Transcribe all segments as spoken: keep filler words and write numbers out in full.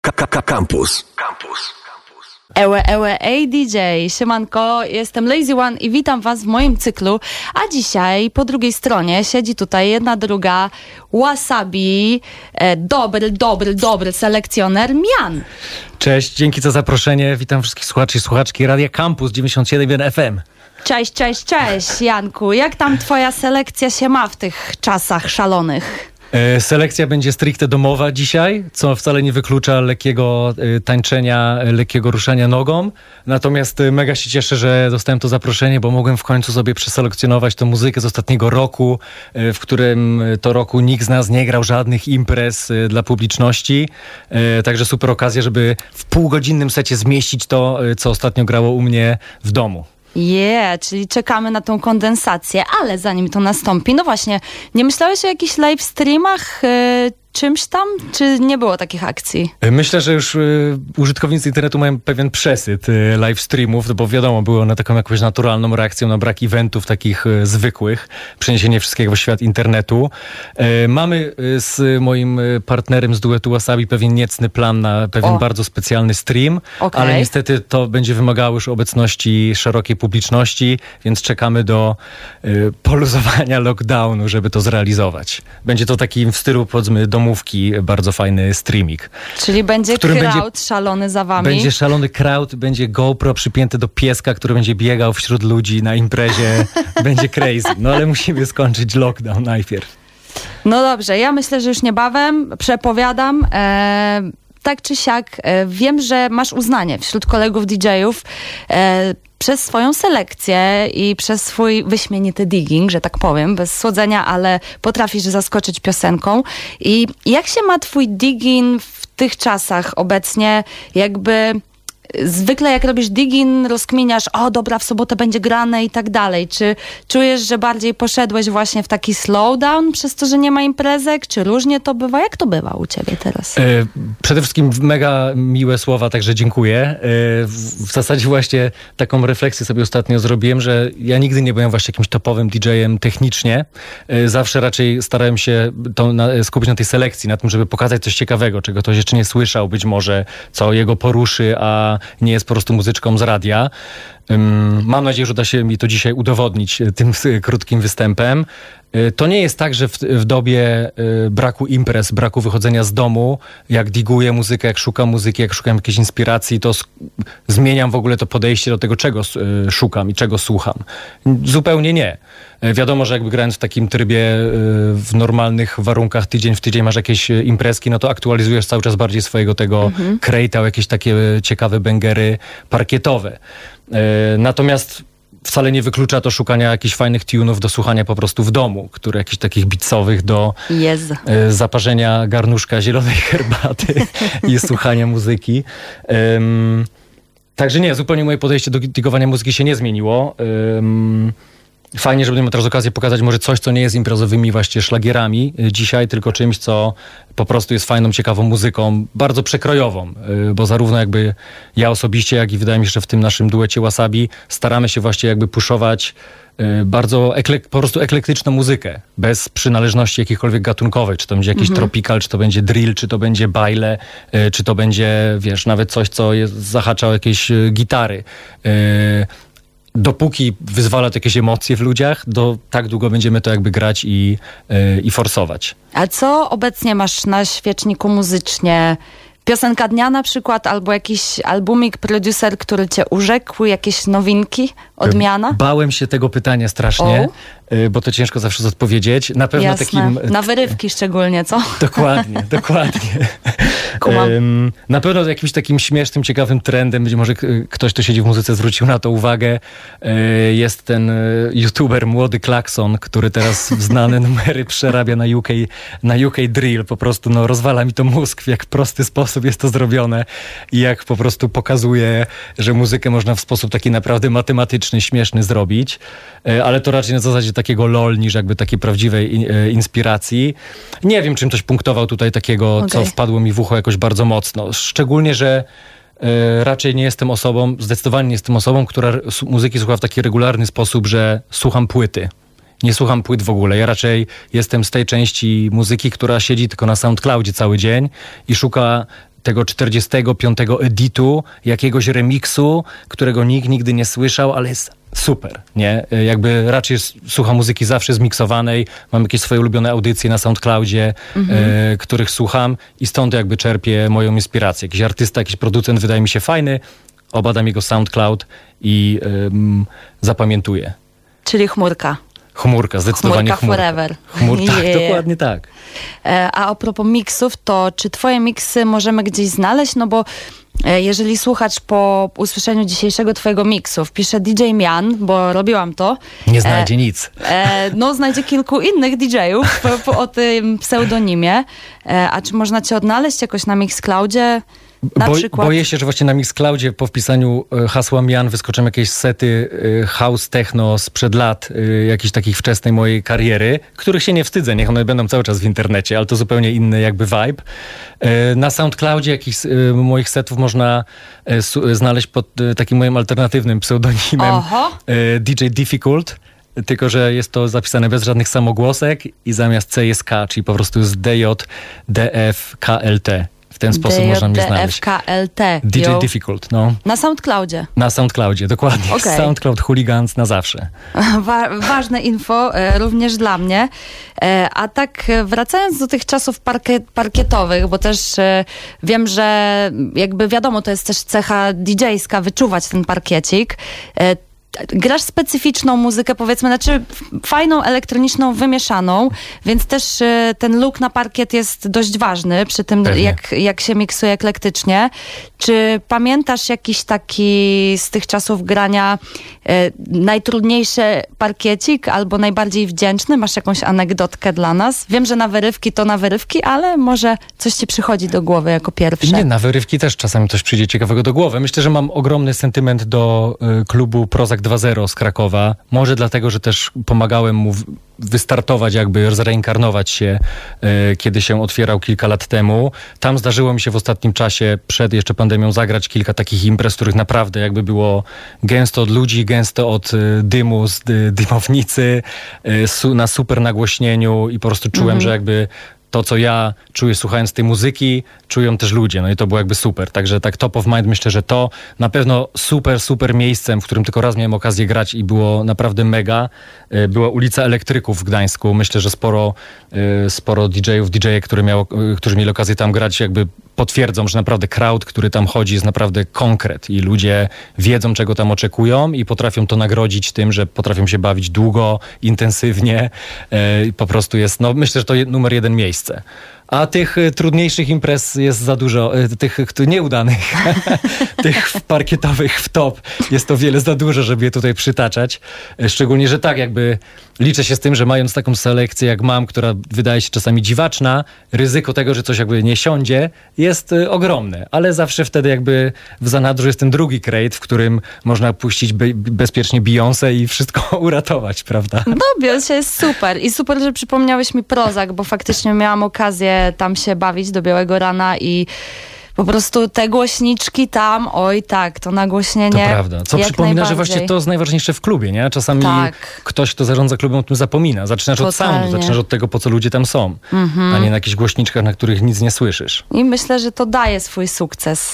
Campus. Campus. Ewe, ewe, ej D J, siemanko, jestem Lazy One i witam was w moim cyklu, a dzisiaj po drugiej stronie siedzi tutaj jedna druga Wasabi, e, dobry, dobry, dobry selekcjoner Mian. Cześć, dzięki za zaproszenie, witam wszystkich słuchaczy i słuchaczki Radia Campus dziewięćdziesiąt siedem jeden F M. Cześć, cześć, cześć Janku, jak tam twoja selekcja się ma w tych czasach szalonych? E, selekcja będzie stricte domowa dzisiaj, co wcale nie wyklucza lekkiego e, tańczenia, e, lekkiego ruszania nogą. Natomiast e, mega się cieszę, że dostałem to zaproszenie, bo mogłem w końcu sobie przeselekcjonować tę muzykę z ostatniego roku, e, w którym to roku nikt z nas nie grał żadnych imprez e, dla publiczności. E, także super okazja, żeby w półgodzinnym secie zmieścić to, e, co ostatnio grało u mnie w domu. Yeah, czyli czekamy na tą kondensację, ale zanim to nastąpi, no właśnie, nie myślałeś o jakichś live streamach, yy, czymś tam, czy nie było takich akcji? Myślę, że już y, użytkownicy internetu mają pewien przesyt y, live streamów, bo wiadomo, były one taką jakąś naturalną reakcją na brak eventów takich y, zwykłych, przeniesienie wszystkiego w świat internetu. Y, mamy y, z moim y, partnerem z duetu Wasabi pewien niecny plan na pewien o. bardzo specjalny stream, okay. ale niestety to będzie wymagało już obecności szerokiej publiczności, więc czekamy do y, poluzowania lockdownu, żeby to zrealizować. Będzie to taki w stylu, powiedzmy, domówki, bardzo fajny streaming. Czyli będzie crowd będzie, szalony za wami? Będzie szalony crowd, będzie GoPro przypięte do pieska, który będzie biegał wśród ludzi na imprezie. Będzie crazy. No ale musimy skończyć lockdown najpierw. No dobrze, ja myślę, że już niebawem przepowiadam. E, tak czy siak, e, wiem, że masz uznanie wśród kolegów D J-ów e, przez swoją selekcję i przez swój wyśmienity digging, że tak powiem, bez słodzenia, ale potrafisz zaskoczyć piosenką. I jak się ma twój digging w tych czasach obecnie? Jakby zwykle jak robisz digging, rozkminiasz, o dobra, w sobotę będzie grane i tak dalej. Czy czujesz, że bardziej poszedłeś właśnie w taki slowdown przez to, że nie ma imprezek? Czy różnie to bywa? Jak to bywa u ciebie teraz? E, przede wszystkim mega miłe słowa, także dziękuję. E, w, w zasadzie właśnie taką refleksję sobie ostatnio zrobiłem, że ja nigdy nie byłem właśnie jakimś topowym D J-em technicznie. E, zawsze raczej starałem się to na, skupić na tej selekcji, na tym, żeby pokazać coś ciekawego, czego ktoś jeszcze nie słyszał, być może, co jego poruszy, a nie jest po prostu muzyczką z radia. Um, mam nadzieję, że uda się mi to dzisiaj udowodnić tym krótkim występem. To nie jest tak, że w, w dobie y, braku imprez, braku wychodzenia z domu, jak diguję muzykę, jak szukam muzyki, jak szukam jakiejś inspiracji, to sk- zmieniam w ogóle to podejście do tego, czego y, szukam i czego słucham. Zupełnie nie. Y, wiadomo, że jakby grając w takim trybie y, w normalnych warunkach, tydzień w tydzień masz jakieś imprezki, no to aktualizujesz cały czas bardziej swojego tego mhm. krejta, jakieś takie ciekawe bęgery parkietowe. Y, natomiast wcale nie wyklucza to szukania jakichś fajnych tunów do słuchania po prostu w domu, które jakichś takich beatsowych do yes. y, zaparzenia garnuszka zielonej herbaty i słuchania muzyki. Um, także nie, zupełnie moje podejście do digowania muzyki się nie zmieniło. Um, Fajnie, że będziemy teraz okazję pokazać może coś, co nie jest imprezowymi właśnie szlagierami dzisiaj, tylko czymś, co po prostu jest fajną, ciekawą muzyką, bardzo przekrojową, bo zarówno jakby ja osobiście, jak i wydaje mi się, że w tym naszym duecie Wasabi staramy się właśnie jakby puszować bardzo eklek- po prostu eklektyczną muzykę, bez przynależności jakichkolwiek gatunkowej, czy to będzie jakiś mhm. tropical, czy to będzie drill, czy to będzie baile, czy to będzie, wiesz, nawet coś, co jest, zahacza o jakieś gitary. Dopóki wyzwala to jakieś emocje w ludziach, do tak długo będziemy to jakby grać i, yy, i forsować. A co obecnie masz na świeczniku muzycznie? Piosenka dnia na przykład, albo jakiś albumik, producer, który cię urzekł, jakieś nowinki, odmiana? Bałem się tego pytania strasznie, oh. bo to ciężko zawsze odpowiedzieć. Na pewno Jasne. takim... Na wyrywki szczególnie, co? Dokładnie, dokładnie. Um, na pewno jakimś takim śmiesznym, ciekawym trendem, być może ktoś, kto siedzi w muzyce, zwrócił na to uwagę, jest ten youtuber Młody Klakson, który teraz znane numery przerabia na U K, na U K drill. Po prostu no, rozwala mi to mózg, w jak prosty sposób jest to zrobione i jak po prostu pokazuje, że muzykę można w sposób taki naprawdę matematyczny, śmieszny zrobić, ale to raczej na zasadzie takiego lol niż jakby takiej prawdziwej inspiracji. Nie wiem, czym coś punktował tutaj takiego, okay. co wpadło mi w ucho jakoś bardzo mocno. Szczególnie, że y, raczej nie jestem osobą, zdecydowanie nie jestem osobą, która muzyki słucha w taki regularny sposób, że słucham płyty. Nie słucham płyt w ogóle. Ja raczej jestem z tej części muzyki, która siedzi tylko na SoundCloudzie cały dzień i szuka tego czterdziestego piątego editu, jakiegoś remiksu, którego nikt nigdy nie słyszał, ale jest super, nie? Jakby raczej słucham muzyki zawsze zmiksowanej, mam jakieś swoje ulubione audycje na SoundCloudzie, mhm. e, których słucham i stąd jakby czerpię moją inspirację. Jakiś artysta, jakiś producent wydaje mi się fajny, obadam jego SoundCloud i ym, zapamiętuję. Czyli chmurka. Chmurka, zdecydowanie chmurka. Chmurka forever. Chmur, tak, yeah. dokładnie tak. E, a a propos miksów, to czy twoje miksy możemy gdzieś znaleźć? No bo e, jeżeli słuchacz po usłyszeniu dzisiejszego twojego miksu wpisze D J Mian, bo robiłam to. Nie znajdzie e, nic. E, no znajdzie kilku innych D J-ów po, po, o tym pseudonimie. E, a czy można cię odnaleźć jakoś na Mixcloudzie? Na Bo, przykład... Boję się, że właśnie na Mixcloudzie po wpisaniu e, hasła Mian wyskoczą jakieś sety e, house techno sprzed lat, e, jakiejś takiej wczesnej mojej kariery, których się nie wstydzę, niech one będą cały czas w internecie, ale to zupełnie inny jakby vibe. E, na SoundCloudzie jakichś e, moich setów można e, su, znaleźć pod e, takim moim alternatywnym pseudonimem e, D J Difficult. Tylko że jest to zapisane bez żadnych samogłosek i zamiast C jest K, czyli po prostu jest D J D F K L T. W ten sposób można mnie znaleźć. D J D F K L T. D J Difficult, no. Na SoundCloudzie. Na SoundCloudzie, dokładnie. Okay. SoundCloud Hooligans na zawsze. Wa- ważne info e, również dla mnie. E, a tak wracając do tych czasów parkie- parkietowych, bo też e, wiem, że jakby wiadomo, to jest też cecha D J-ska, wyczuwać ten parkiecik. E, Grasz specyficzną muzykę, powiedzmy, znaczy fajną, elektroniczną, wymieszaną, więc też y, ten look na parkiet jest dość ważny przy tym, jak, jak się miksuje eklektycznie. Czy pamiętasz jakiś taki z tych czasów grania y, najtrudniejszy parkiecik albo najbardziej wdzięczny? Masz jakąś anegdotkę dla nas? Wiem, że na wyrywki to na wyrywki, ale może coś ci przychodzi do głowy jako pierwsze. Nie, na wyrywki też czasami coś przyjdzie ciekawego do głowy. Myślę, że mam ogromny sentyment do y, klubu Prozac dwa zero z Krakowa. Może dlatego, że też pomagałem mu w, wystartować, jakby zreinkarnować się, y, kiedy się otwierał kilka lat temu. Tam zdarzyło mi się w ostatnim czasie, przed jeszcze pandemią, zagrać kilka takich imprez, których naprawdę jakby było gęsto od ludzi, gęsto od y, dymu z y, dymownicy, y, su, na super nagłośnieniu i po prostu czułem, mhm. że jakby to, co ja czuję słuchając tej muzyki, czują też ludzie. No i to było jakby super. Także tak top of mind myślę, że to na pewno super, super miejscem, w którym tylko raz miałem okazję grać i było naprawdę mega. Była ulica Elektryków w Gdańsku. Myślę, że sporo, sporo D J-ów, D J-e, które miało, którzy mieli okazję tam grać, jakby potwierdzą, że naprawdę crowd, który tam chodzi, jest naprawdę konkret i ludzie wiedzą, czego tam oczekują i potrafią to nagrodzić tym, że potrafią się bawić długo, intensywnie. I po prostu jest, no myślę, że to jest numer jeden miejsce. A tych y, trudniejszych imprez jest za dużo, y, tych y, nieudanych, tych parkietowych w top jest to wiele za dużo, żeby je tutaj przytaczać. Y, szczególnie, że tak jakby liczę się z tym, że mając taką selekcję jak mam, która wydaje się czasami dziwaczna, ryzyko tego, że coś jakby nie siądzie jest y, ogromne. Ale zawsze wtedy jakby w zanadrzu jest ten drugi crate, w którym można puścić be- bezpiecznie Beyoncé i wszystko uratować, prawda? No, Beyoncé jest super. I super, że przypomniałeś mi Prozac, bo faktycznie miałam okazję tam się bawić do białego rana i po prostu te głośniczki tam, oj tak, to nagłośnienie. To prawda. Co przypomina, że właśnie to jest najważniejsze w klubie, nie? Czasami tak. ktoś, kto zarządza klubem, o tym zapomina. Zaczynasz Totalnie. od soundu, zaczynasz od tego, po co ludzie tam są, mhm. a nie na jakichś głośniczkach, na których nic nie słyszysz. I myślę, że to daje swój sukces.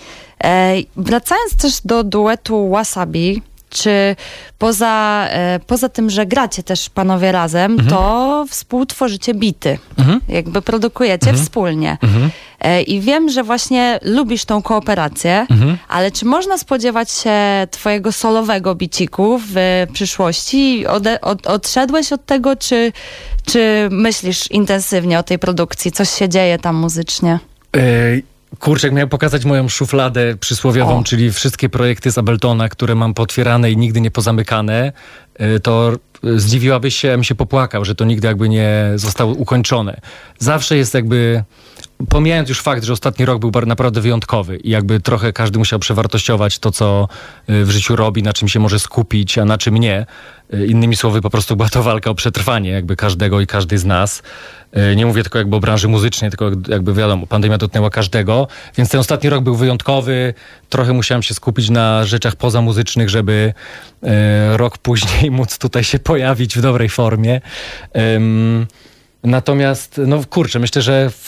E, wracając też do duetu Wasabi, czy poza, e, poza tym, że gracie też panowie razem, mhm. to współtworzycie bity. Mhm. Jakby produkujecie mhm. wspólnie. Mhm. E, I wiem, że właśnie lubisz tą kooperację, mhm. ale czy można spodziewać się twojego solowego biciku w przyszłości? Ode, od, odszedłeś od tego, czy, czy myślisz intensywnie o tej produkcji? Coś się dzieje tam muzycznie? Ej. Kurczę, miałem pokazać moją szufladę przysłowiową, o. czyli wszystkie projekty z Abletona, które mam potwierane i nigdy nie pozamykane, to zdziwiłabyś się, ja bym się popłakał, że to nigdy jakby nie zostało ukończone. Zawsze jest jakby, pomijając już fakt, że ostatni rok był naprawdę wyjątkowy i jakby trochę każdy musiał przewartościować to, co w życiu robi, na czym się może skupić, a na czym nie. Innymi słowy, po prostu była to walka o przetrwanie jakby każdego i każdej z nas. Nie mówię tylko jakby o branży muzycznej, tylko jakby wiadomo, pandemia dotknęła każdego, więc ten ostatni rok był wyjątkowy. Trochę musiałem się skupić na rzeczach pozamuzycznych, żeby e, rok później móc tutaj się pojawić w dobrej formie. Um, natomiast, no kurczę, myślę, że w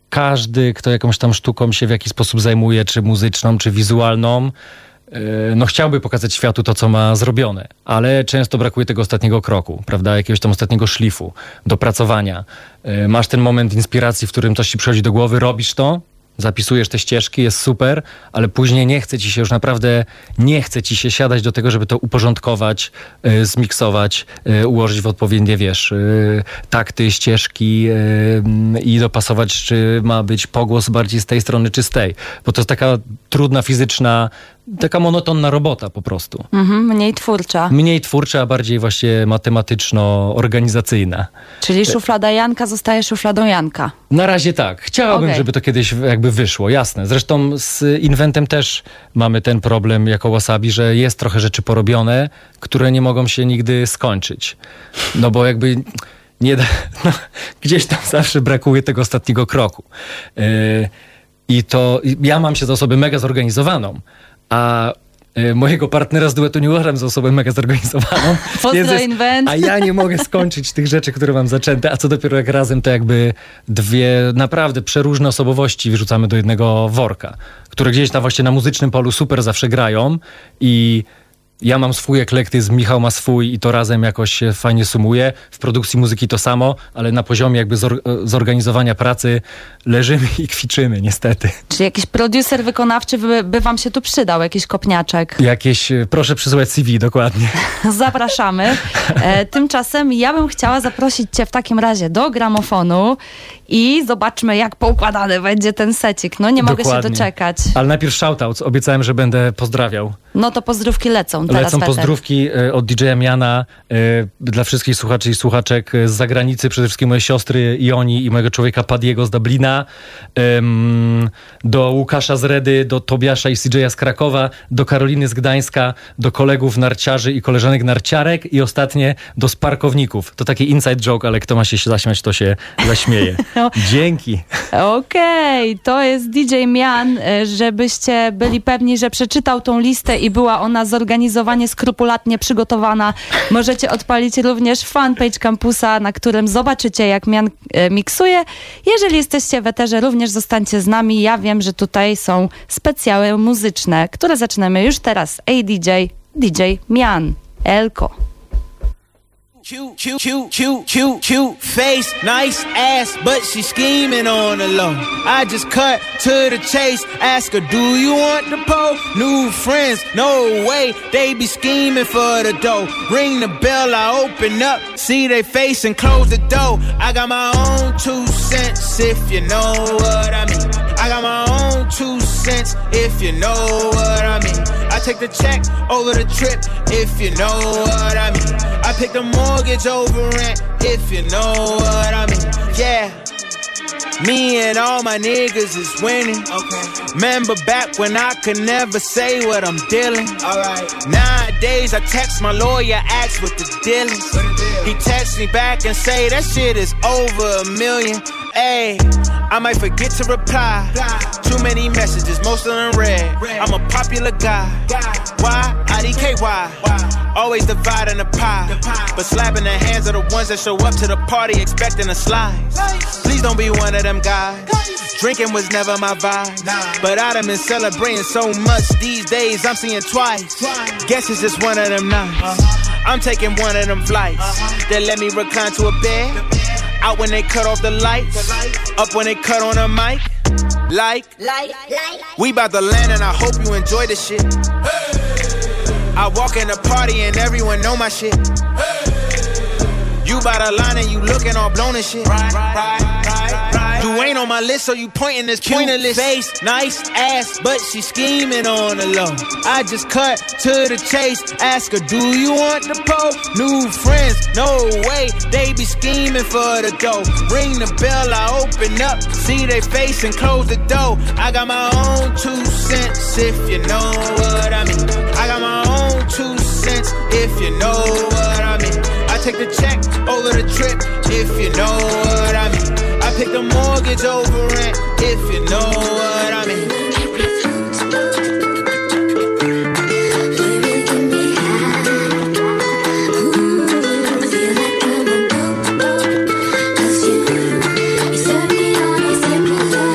każdy, kto jakąś tam sztuką się w jakiś sposób zajmuje, czy muzyczną, czy wizualną, no chciałby pokazać światu to, co ma zrobione, ale często brakuje tego ostatniego kroku, prawda, jakiegoś tam ostatniego szlifu, dopracowania. Masz ten moment inspiracji, w którym coś ci przychodzi do głowy, robisz to, zapisujesz te ścieżki, jest super, ale później nie chce ci się już naprawdę, nie chce ci się siadać do tego, żeby to uporządkować, y, zmiksować, y, ułożyć w odpowiednie, wiesz, y, takty, ścieżki y, i dopasować, czy ma być pogłos bardziej z tej strony, czy z tej. Bo to jest taka trudna, fizyczna, taka monotonna robota po prostu. Mhm, mniej twórcza. Mniej twórcza, a bardziej właśnie matematyczno-organizacyjna. Czyli szuflada Janka zostaje szufladą Janka. Na razie tak. Chciałabym, okay. żeby to kiedyś jakby wyszło, jasne. Zresztą z Inventem też mamy ten problem jako Wasabi, że jest trochę rzeczy porobione, które nie mogą się nigdy skończyć. No bo jakby nie da, no, gdzieś tam zawsze brakuje tego ostatniego kroku. Yy, I to ja mam się za osobę mega zorganizowaną, a y, mojego partnera z duetu nie uważam za osobę mega zorganizowaną. Pozdro Invent. A ja nie mogę skończyć tych rzeczy, które mam zaczęte, a co dopiero jak razem to jakby dwie naprawdę przeróżne osobowości wyrzucamy do jednego worka, które gdzieś tam właśnie na muzycznym polu super zawsze grają i ja mam swój eklektyzm, Michał ma swój i to razem jakoś się fajnie sumuje. W produkcji muzyki to samo, ale na poziomie jakby zor- zorganizowania pracy leżymy i kwiczymy niestety. Czy jakiś producer wykonawczy by, by wam się tu przydał, jakiś kopniaczek? Jakieś, proszę przysyłać C V, dokładnie. Zapraszamy. E, tymczasem ja bym chciała zaprosić cię w takim razie do gramofonu i zobaczmy, jak poukładany będzie ten secik. No nie mogę Dokładnie. się doczekać. Ale najpierw shoutouts. Obiecałem, że będę pozdrawiał. No to pozdrówki lecą teraz. Lecą pozdrówki y, od D J a Miana y, dla wszystkich słuchaczy i słuchaczek z zagranicy, przede wszystkim mojej siostry Ioni i mojego człowieka Padiego z Dublina, ym, do Łukasza z Redy, do Tobiasza i C J a z Krakowa, do Karoliny z Gdańska, do kolegów narciarzy i koleżanek narciarek i ostatnie do sparkowników. To taki inside joke, ale kto ma się zaśmiać, to się zaśmieje. Dzięki. Okej, okay, to jest D J Mian, żebyście byli pewni, że przeczytał tą listę i była ona zorganizowanie skrupulatnie przygotowana. Możecie odpalić również fanpage Kampusa, na którym zobaczycie, jak Mian e, miksuje. Jeżeli jesteście w eterze, również zostańcie z nami. Ja wiem, że tutaj są specjały muzyczne, które zaczynamy już teraz. Ej D J, D J Mian, Elko. Cute, cute, cute, cute, cute, cute face, nice ass, but she scheming on the low. I just cut to the chase, ask her, do you want the pole? New friends, no way, they be scheming for the dough. Ring the bell, I open up, see they face and close the door. I got my own two cents, if you know what I mean. I got my own two cents, if you know what I mean. I take the check over the trip, if you know what I mean. I pick the mortgage over rent, if you know what I mean. Yeah, me and all my niggas is winning. Okay. Remember back when I could never say what I'm dealing. Alright. Nowadays I text my lawyer, ask what the deal is. What the deal? He texts me back and say that shit is over a million. Ayy, I might forget to reply. Too many messages, most of them read. I'm a popular guy. Why? I D K Y. Always dividing the pie, but slapping the hands of the ones that show up to the party expecting a slice. Please don't be one of them guys. Drinking was never my vibe, but I done been celebrating so much these days I'm seeing twice. Guess it's just one of them nights. I'm taking one of them flights that let me recline to a bed. Out when they cut off the lights, up when they cut on a mic. Like, like, like. We bout to land and I hope you enjoy the shit. I walk in the party and everyone know my shit. You bout to line and you looking all blown and shit. Right, right, right, right. You ain't on my list, so you pointing this pointless face, nice ass, but she scheming on the low. I just cut to the chase, ask her, do you want the pole? New friends, no way, they be scheming for the dough. Ring the bell, I open up, see they face and close the door. I got my own two cents, if you know what I mean. I got my own two cents, if you know what I mean. I take the check over the trip, if you know what I mean. I pick the mortgage over rent, if you know what I mean. Cause you, you set me on, you set me down.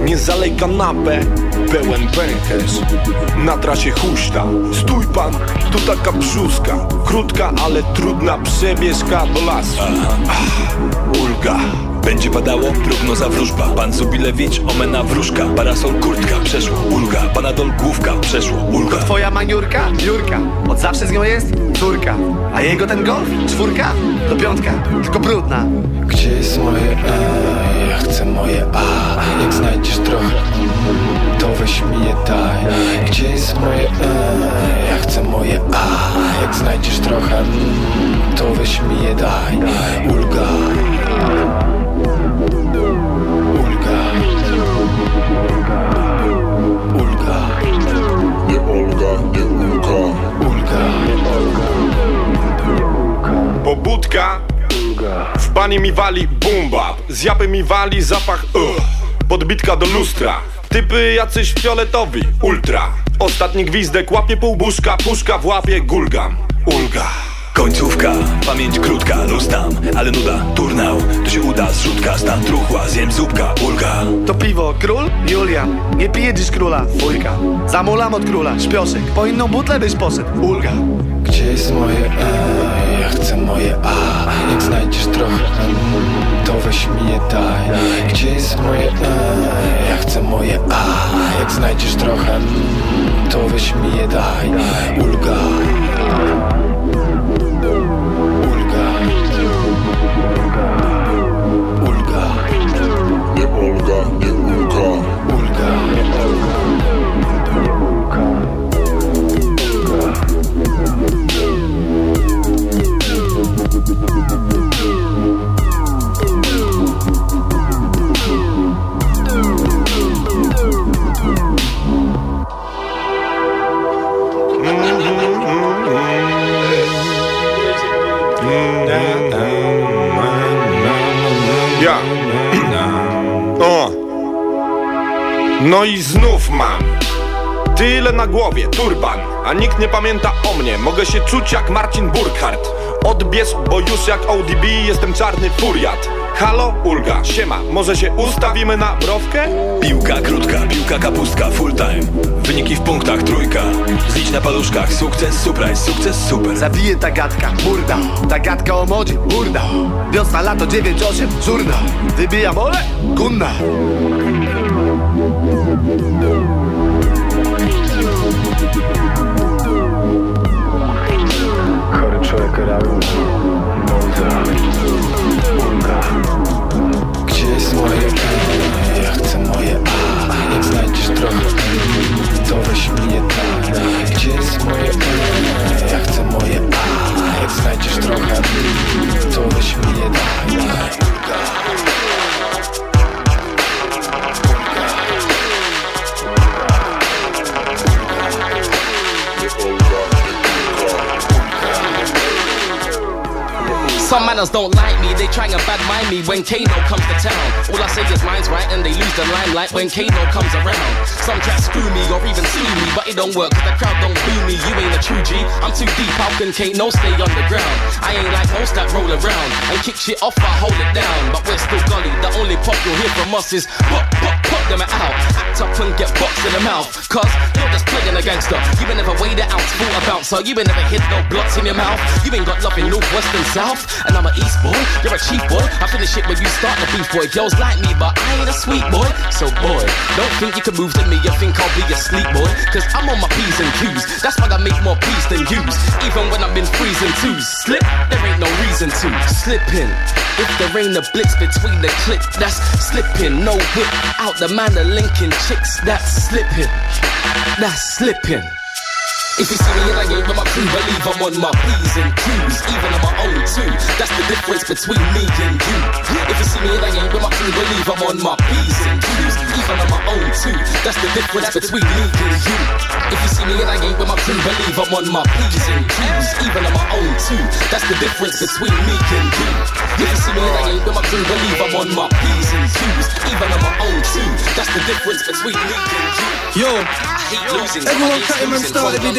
nie zalej kanapę. Pełen pęcherz, na trasie huśta. Stój pan, tu taka brzuska. Krótka, ale trudna przebieżka do lasu. Ach, ulga. Będzie padało, prognoza wróżba. Pan Zubilewicz, omena wróżka. Parasol, kurtka, przeszło, ulga. Panadol, główka, przeszło, ulga. To twoja maniurka? Jurka. Od zawsze z nią jest córka. A jego ten golf? Czwórka? To piątka, tylko brudna. Gdzie jest moje E? Ja chcę moje A. Jak znajdziesz trochę, to weź mi je daj. Gdzie jest moje E? Ja chcę moje A. Jak znajdziesz trochę, to weź mi je daj. Ulga. Ulga. Ulga. Nie Olga, nie Ulga. Ulga. Pobudka. W bani mi wali boom bap. Z japy mi wali zapach uh. Podbitka do lustra. Typy jacyś fioletowi, ultra. Ostatni gwizdek łapie półbuszka. Puszka w łapie, gulgam. Ulga. Końcówka, pamięć krótka, luz tam, ale nuda, turnał. To się uda, zrzutka, stan truchła, zjem zupka, ulga. To piwo, król? Julian. Nie pije dziś króla, fujka. Zamulam od króla, śpioszek. Po inną butlę byś poszedł, ulga. Gdzie jest moje E? Ja chcę moje A. Jak znajdziesz trochę, to weź mi je daj. Gdzie jest moje E? Ja chcę moje A. Jak znajdziesz trochę, to weź mi je daj. Ulga. Ulga. Ulga. Nie Olga, nie Ulga. Ulga. Ja. O. No i znów mam tyle na głowie, turban, a nikt nie pamięta o mnie. Mogę się czuć jak Marcin Burkhardt. Odbierz, bo już jak O D B jestem czarny furiat. Halo, Ulga, siema, może się ustawimy na browkę? Piłka krótka, piłka kapustka, full time. Wyniki w punktach, trójka. Zlicz na paluszkach, sukces, surprise, sukces, super. Zabije ta gadka, burda. Ta gadka o modzie, burda. Wiosna, lato, dziewięć osiem, żurna. Wybija mole, kunna. Chory człowiek reaguje. Ulga. Gdzie jest moje E? Ja chcę moje A. Jak znajdziesz trochę, to weź mi je daj. Gdzie jest moje E? Ja chcę moje A. Jak znajdziesz trochę, to weź mi je daj. Ulga. Some manners don't like me, they try and bad mind me when Kano comes to town. All I say is mine's right and they lose the limelight when Kano comes around. Some try screw me or even sue me, but it don't work cause the crowd don't boo me. You ain't a true G, I'm too deep, how can Kano stay underground? I ain't like most that roll around and kick shit off, I hold it down. But we're still gully, the only pop you'll hear from us is pop, pop, pop them out. Act up and get boxed in the mouth, cause you're just playing a gangster. You ain't never weighed it out, full a bouncer. You ain't never hit no blots in your mouth. You ain't got love in north, west and south. And I'm a east boy, you're a cheap boy. I finish it when you start the beef boy. Girls like me, but I ain't a sweet boy. So boy, don't think you can move to me. You think I'll be a sleep boy? Cause I'm on my P's and Q's. That's why I make more P's than U's. Even when I've been freezing twos. Slip, there ain't no reason to. Slipping. If there ain't a blitz between the clip, that's slipping. No whip out the man of linking chicks. That's slipping. That's slipping. If you see me and I ain't with my crew, believe I'm on my P's and Q's, even on my own too. That's the difference between me and you. If you see me and I ain't with my crew, believe I'm on my P's and Q's, even on my own too. That's the difference between me and you. If you see me and I ain't with my crew, believe I'm on my P's and Q's, even on my own too. That's the difference between me and you. If you see me and I ain't with my crew, believe I'm on my P's and Q's, even on my own too. That's the difference between me and you. Yo, I hate losing. everyone cutting and started with this.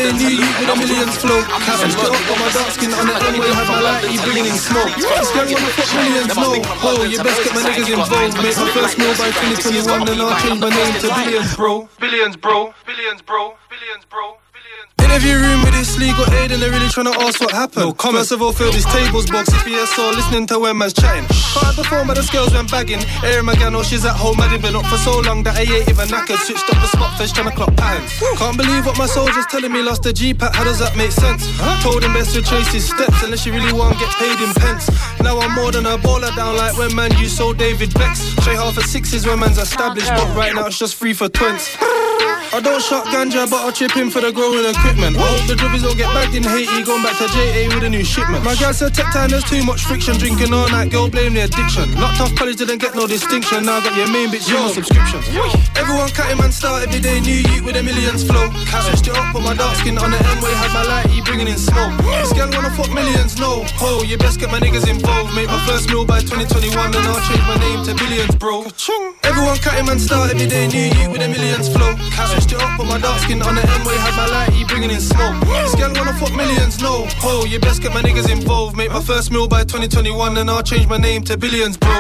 day, new you with a millions flow. Switched it up on my dark skin on the M-way, had my light, he bringing in smoke. This girl wanna fuck millions, no. Oh, you best get my niggas involved. Make my first meal by twenty twenty-one, then I'll change my name to Billions, bro. Billions, bro. Billions, bro. Billions, bro. Interview room with this legal aid and they're really trying to ask what happened. No comment. First of all, fill this tables box if you saw listening to when man's chatting. Can't have the phone but the girls went bagging. Airing my gal, oh she's at home, I didn't been up for so long that I ain't even knackered. Switched up the spot, fish trying to clock patterns. Can't believe what my soldier's telling me, lost the G-Pack, how does that make sense? Huh? Told him best to trace his steps unless you really want to get paid in pence. Now I'm more than a baller down like when man you sold David Becks. Straight half at sixes when man's established, but right now it's just free for twins. I don't shot ganja, but I'll chip in for the growing equipment. I hope the drivers don't get bagged in Haiti, going back to J A with a new shipment. My gal said tech time, there's too much friction. Drinking all night, girl blame the addiction. Not tough college, didn't get no distinction. Now I got your main bitch, your subscriptions. Everyone cutting man start every day, new youth with a millions flow. Switched it up, put my dark skin on the M-way, had my light, he bringing in smoke. This girl wanna fuck millions, no. Ho, you best get my niggas involved. Make my first meal by twenty twenty-one, then I'll change my name to Billions, bro. Everyone cutting man start every day, new youth with a millions flow. Switched it up, put my dark skin on the M-way, had my light, he bringing in smoke. This girl wanna fuck millions, no. Ho, you best get my niggas involved. Make my first meal by twenty twenty-one, then I'll change my name to Billions, bro.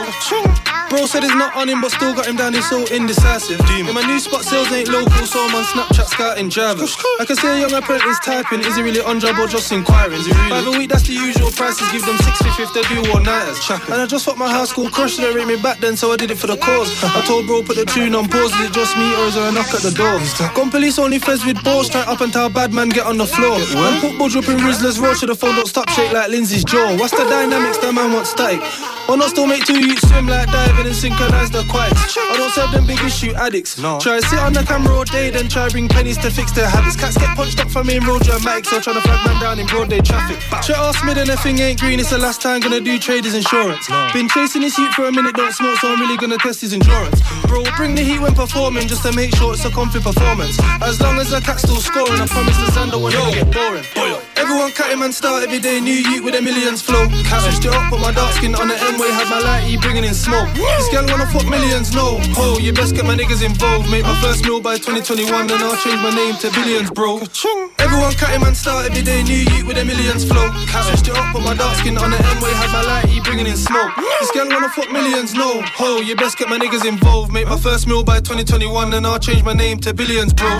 Bro said it's not on him, but still got him down, he's so indecisive. In my new spot, sales ain't local, so I'm on Snapchat scouting drivers. I can see a young apprentice typing, is he really on job or just inquiring? Is he really? By the week, that's the usual prices, give them six fifty if they do all-nighters. And I just fucked my high school crush, they rate me back then, so I did it for the cause. I told bro, put the tune on pause, is it just me or is there a knock at the door? Gone police only feds with balls, straight up and tell bad man get on the floor. And put Budge up in Rizzler's road, to the phone don't stop shake like Lindsay's jaw. What's the dynamics, that man wants static? Or not still make two youths swim like diving and synchronise the quads. I don't serve them big issue addicts. No. Try to sit on the camera all day, then try bring pennies to fix their habits. Cats get punched up for main road dramatics, so trying to flag man down in broad day traffic. Shut off mid and the thing ain't green, it's the last time gonna do trade his insurance. No. Been chasing this youth for a minute, don't smoke, so I'm really gonna test his endurance. Bro, bring the heat when performing, just to make sure it's a comfy performance. As long as the cat's still scoring, I promise the Xander won't ever get boring. Everyone cutting man start every day, new youth with a millions flow. Switched it up, put my dark skin on the M-way, had my light, he bringing in smoke. This girl wanna fuck millions, no. Ho, you best get my niggas involved. Make my first meal by twenty twenty-one, then I'll change my name to Billions, bro. Everyone cutting man start every day, new youth with a millions flow. Switched it up, put my dark skin on the M-way, had my light, he bringing in smoke. This girl wanna fuck millions, no. Ho, you best get my niggas involved. Make my first meal by twenty twenty-one, then I'll change my name to Billions, bro.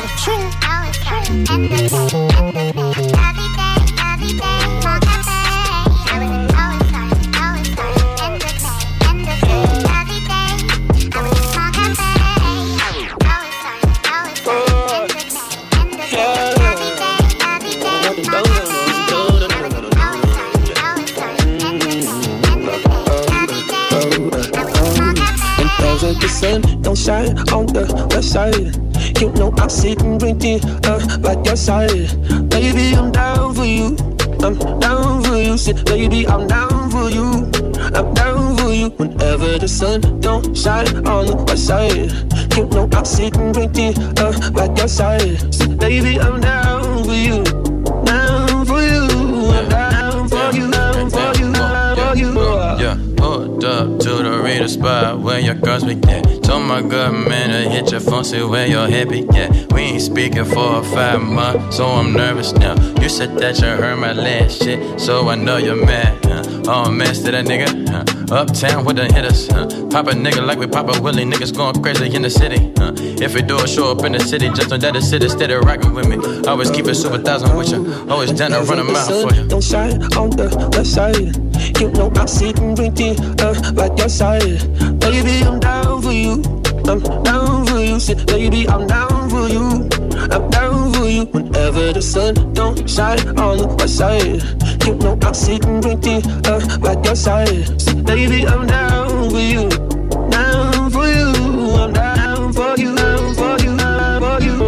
The sun don't shine on the west side. You know I'm sitting drinking uh, like your side. Baby, I'm down for you. I'm down for you. Say, baby, I'm down for you. I'm down for you. Whenever the sun don't shine on the west side. You know I'm sitting drinking uh, like your side. Say, baby, I'm down for you. Down for you. I'm down for you. Down for you. Down for you. Yeah. Pulled up to the reader spot where your girls be at. Told my good man to hit your phone, see where your head be at. We ain't speaking for five months, so I'm nervous now. You said that you heard my last shit, so I know you're mad. Huh? Oh, man, to that nigga. Huh? Uptown with the hitters. Huh? Pop a nigga like we pop a Willie. Niggas going crazy in the city. Huh? If we do a show up in the city, just know that the city steady rocking with me. Always keep it super thousand with you. Always down to run a mile for you. Don't shine on the left side. You know I'm sitting drinking uh, like your side. Baby, I'm down for you. I'm down for you. Say, baby, I'm down for you. I'm down for you. Whenever the sun don't shine on the west side. You know I'm sitting drinking uh, like your side. Say, baby, I'm down for you. Down for you. I'm down for you. Down for you. Down for you.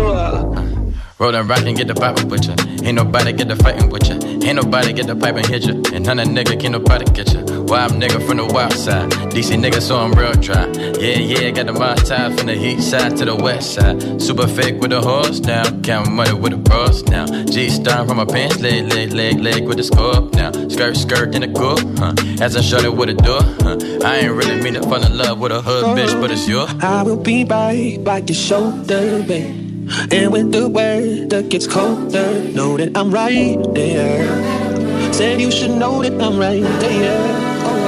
Roll and rock and get the poppin' with ya. Ain't nobody get the fightin' with ya. Ain't nobody get the pipe and hit ya. And none of nigga can nobody get ya. Wild nigga from the wild side. D C nigga, so I'm real dry. Yeah, yeah, got the mind tied from the east side to the west side. Super fake with the horse now. Count money with the bros now. G-star from my pants, leg, leg, leg, leg with the scope now. Skirt, skirt in the coupe, huh? As I showed it with a door, huh? I ain't really mean to fall in love with a hood bitch, but it's you. I will be right by your shoulder, babe. And when the weather gets colder, know that I'm right there. Said you should know that I'm right there. Oh,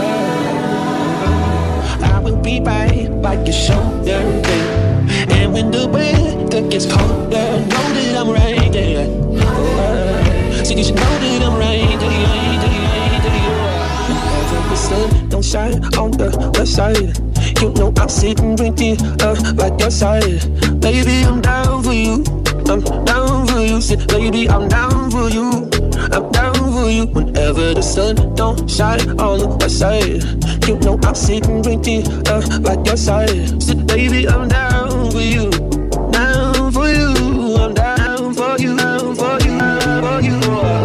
I will be right by your shoulder, babe. And when the weather gets colder, know that I'm right there. Oh, said you should know that I'm right there. The sun don't shine on the west side. You know I'm sitting right there, uh, like your side. Baby, I'm down for you. I'm down for you. Say, baby, I'm down for you. I'm down for you. Whenever the sun don't shine on the west side, you know I'm sitting right there, uh, like your side. Say, baby, I'm down for you. Down for you. I'm down for you. Down for you. Down for you.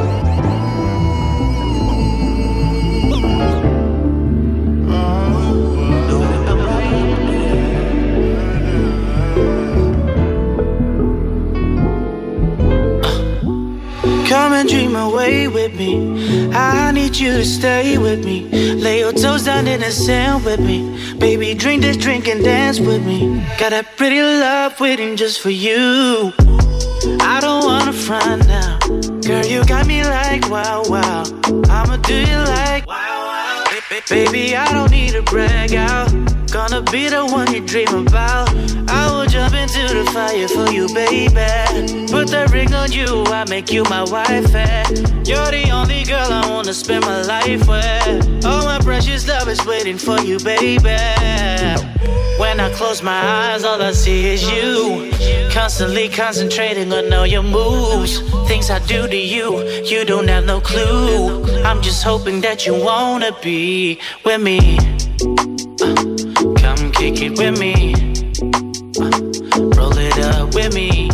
Come and dream away with me. I need you to stay with me. Lay your toes down in the sand with me. Baby, drink this drink and dance with me. Got that pretty love waiting just for you. I don't wanna front now. Girl, you got me like wow, wow. I'ma do you like wow, wow. Baby, I don't need to brag out. Gonna be the one you dream about. I will jump into the fire for you, baby. Put the ring on you, I make you my wife, eh? You're the only girl I wanna spend my life with. All my precious love is waiting for you, baby. When I close my eyes, all I see is you. Constantly concentrating on all your moves. Things I do to you, you don't have no clue. I'm just hoping that you wanna be with me. uh, Come kick it with me. uh, Roll it up with me.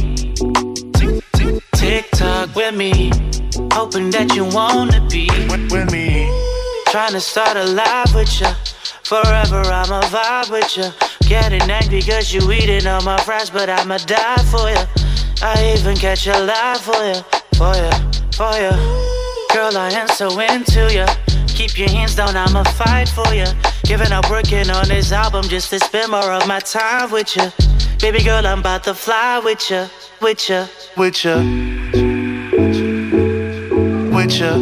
Tick tock with me. Hoping that you wanna be with me. Trying to start a life with ya. Forever I'ma vibe with ya. Getting angry cause you eating all my fries, but I'ma die for ya. I even catch a lie for ya, for ya, for ya. Girl, I am so into ya. Keep your hands down, I'ma fight for ya. Giving up working on this album just to spend more of my time with ya. Baby girl, I'm about to fly with ya, with ya, with ya, with ya.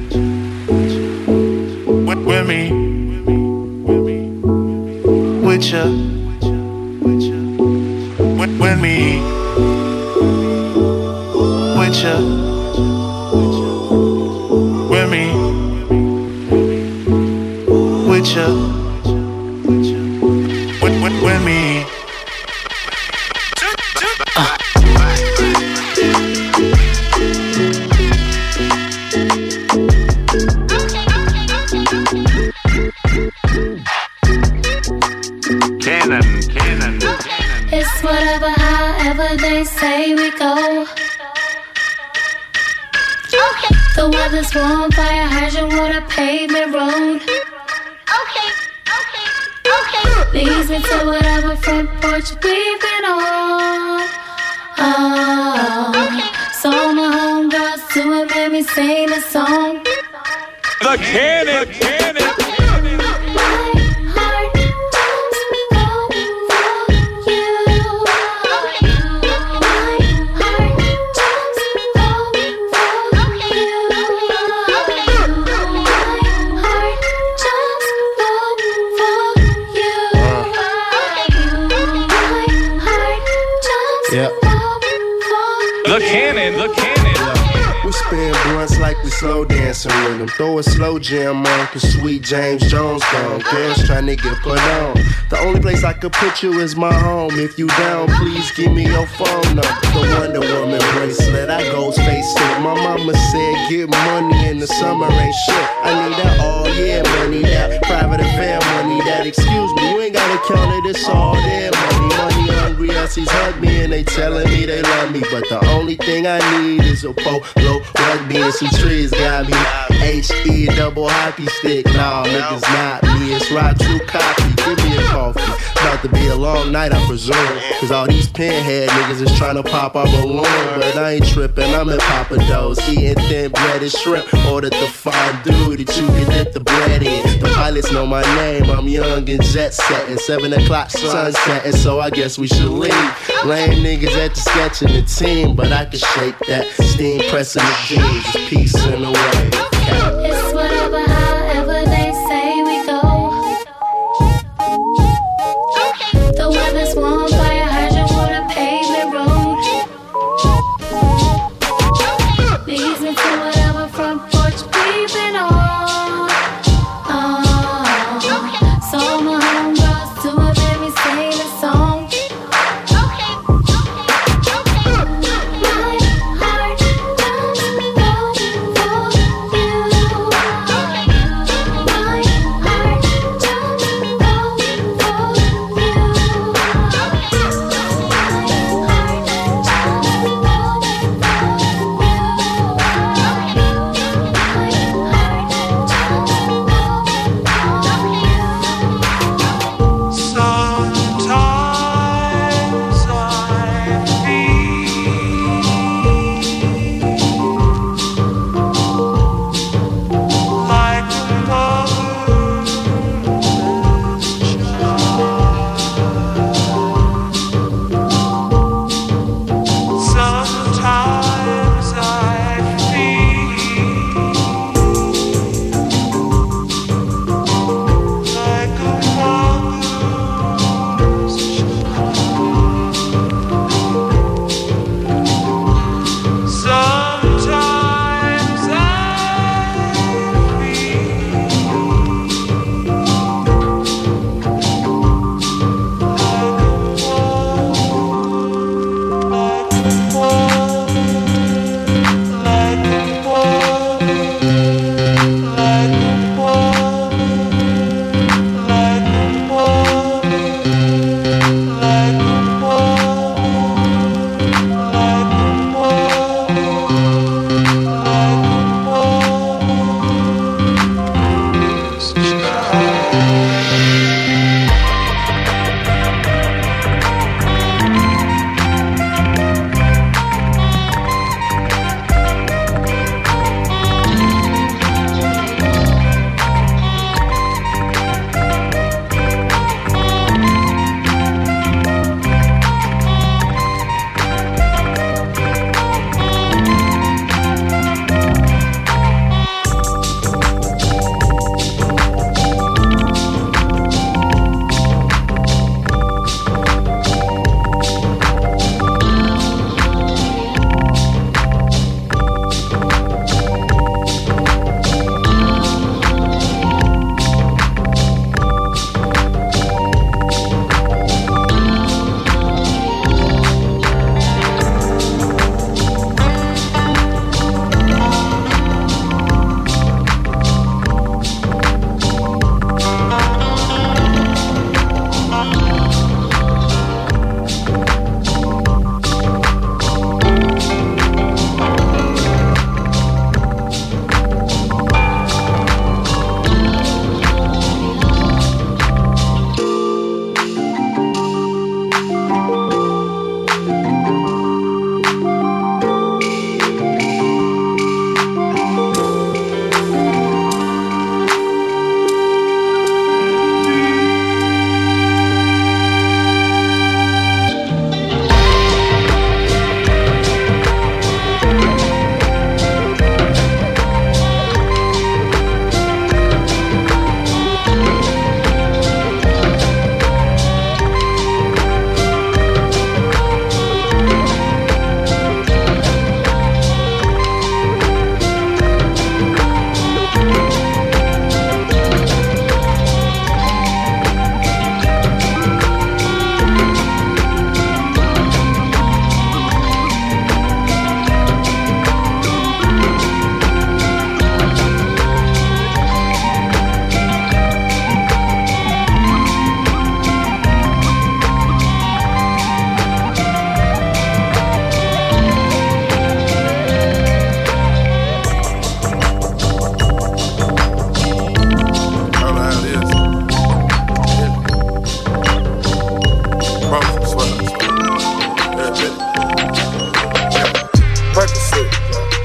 With, with me, with ya, with, with me, with ya, with me, with ya, with, with, with me. Uh. Cannon, cannon. It's whatever, however they say we go. Okay. The weather's warm, fire hydrant, water, pavement road. Okay, okay, okay. Leads me to whatever front porch we've been on. Oh, okay. So my homegirls to it made me sing a song. The cannon, cannon. The cannon, the cannon. We spin blunts like we slow dancing with them. Throw a slow jam on, cause sweet James Jones gone. Girls tryna get put on. The only place I could put you is my home. If you down, please give me your phone number. The Wonder Woman bracelet, I goes face it. My mama said get money in the summer ain't shit. I need that all year money, that private affair money, that excuse me, you ain't gotta count it, it's all there money. Money hungry assies hug me and they telling me they love me, but the only thing I need is a polo rugby and some trees. Got me H E double hockey stick. Nah, niggas not me, it's Rock True Copy. give me a coffee. About to be a long night, I presume. Cause all these pinhead niggas is trying to pop our balloon. But I ain't tripping, I'm in Papa Do's. Eating thin breaded shrimp. Ordered the fondue that you can dip the bread in. The pilots know my name, I'm young and jet setting. Seven o'clock sunset, and so I guess we should leave. Lame niggas at the sketch in the team, but I can shake that. Steam pressing the jeans, just peace in the way. It's whatever, however they say we go. The weather's warm, fire hydrant, water, pavement road. Leads me to whatever front porch we've been on. Oh, so my homegirls to a baby sing a song. My heart doesn't go for you.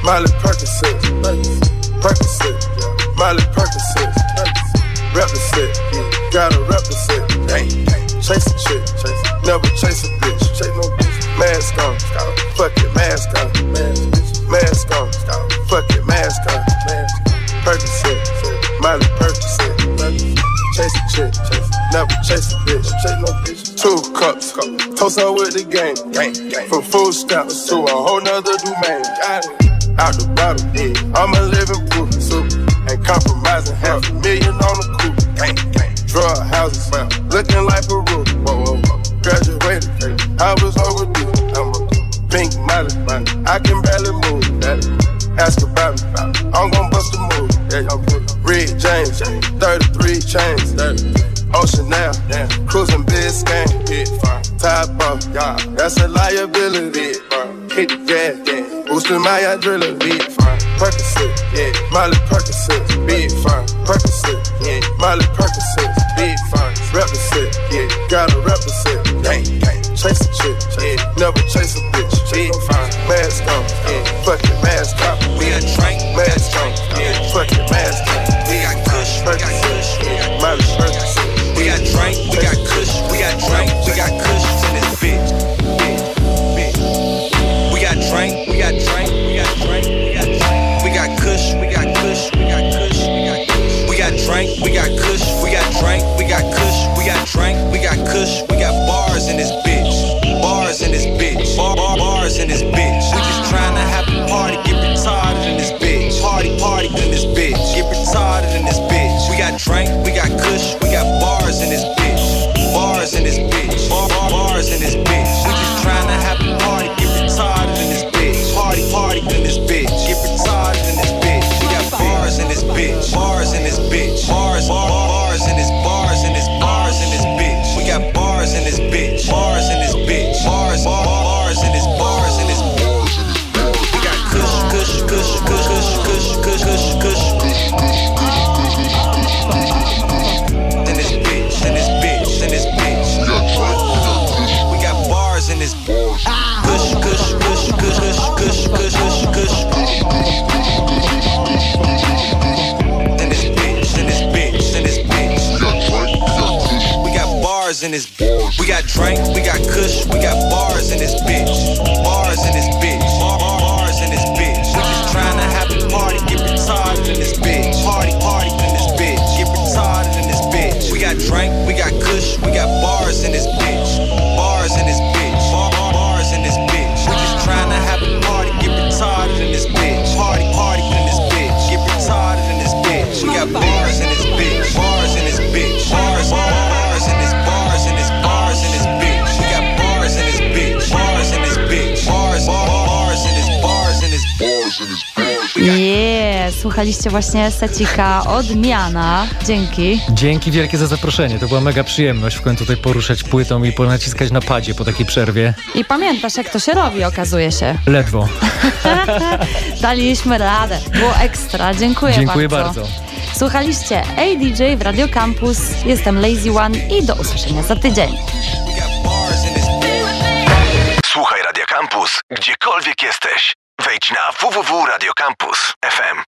Miley Percocet, Percocet, Miley Percocet, represent, gotta represent. Chase a chick, never chase a bitch. Mask on, fuck it, mask on, mask on, fuck it, mask on. Percocet, Miley Percocet, chase a chick, never chase a bitch. Two cups, toast her with the game, from food stamps to a whole nother domain. Out the bottle, I'm a living proof, ain't compromising, half a million on the coupe. Drug houses, looking like a roof. Graduated, I was overdue. I'm a pink Miley, I can barely move. Ask about me, I'm gon' bust a move. Red James, thirty-three chains. Ocean now, cruising Biscayne. Top off, that's a liability. Hit the gas, boosting my adrenaline. Percocet, yeah, Miley Percocet, big fine. Percocet, yeah, Miley Percocet, big fine. Represent, yeah, gotta represent. Gang, gang, chase a chick, yeah, never chase a bitch. Big fine, mask on, yeah, fuck it, mask on. We got drink, mask on, yeah, fuck it, mask on. We got kush, we got kush, yeah, Miley Percocet. We got drink, we got kush, we got drink, we got kush in this bitch. We got drink, we got drink, we got drink, we got drink. We got kush, we got kush, we got kush, we got kush. We got drink, we got kush, we got drink, we got kush, we got drink, we got kush, we got bars in this bitch. Bars in this bitch. Bar, bar, bars in this bitch. We just tryna have a party, get retarded in this bitch. Party, party in this bitch. Get retarded in this bitch. We got drink, we got kush, we got bars in this bitch. Bars in this bitch. Bar, bar, bars in this bitch. We just tryna have a party, get retarded in this bitch. Party, party in this bitch. Get retarded in this bitch. We got bars in this bitch. Bars in this bitch. Bars, bar, bars in this bars in this bars in this bitch. We got bars in this bitch. Bars in this bitch. Bars, bar, bars in this bars in this bars in this bars. We got kush, kush, kush, kush, kush, kush, kush, kush, kush. In this bitch, in this bitch, in this bitch. We got bars in this kush, kush, kush, kush, kush, kush, kush, kush, kush. In this bitch, in this bitch, in this bitch. We got bars in this. We got drink, we got kush, we got bars in this bitch. Bars in this bitch. Bars in this bitch. We just tryna have a party, get retarded in this bitch. Party, party in this bitch. Get retarded in this bitch. We got drink, we got kush, we got bars in this bitch. Bars in this bitch. Bars in this bitch. We just tryna have a party, get retarded in this bitch. Party, party in this bitch. Get retarded in this bitch. We got bars in this bitch. Bars in this bitch. Bars, bars in this bars in this bars in this bitch. We got bars in this bitch. Bars in this bitch. Bars, bars in this bars in this bars in this bars. Yeah, słuchaliście właśnie secika Odmiana. Dzięki. Dzięki wielkie za zaproszenie. To była mega przyjemność w końcu tutaj poruszać płytą i ponaciskać na padzie po takiej przerwie. I pamiętasz, jak to się robi, okazuje się. Ledwo. Daliśmy radę. Było ekstra. Dziękuję, Dziękuję bardzo. bardzo. Słuchaliście A D J w Radio Campus. Jestem Lazy One i do usłyszenia za tydzień. Słuchaj Radio Campus, gdziekolwiek jesteś. Wejdź na w w w kropka radio campus kropka f m.